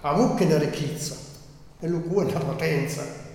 a mucche di ricchezza, e lui è una potenza.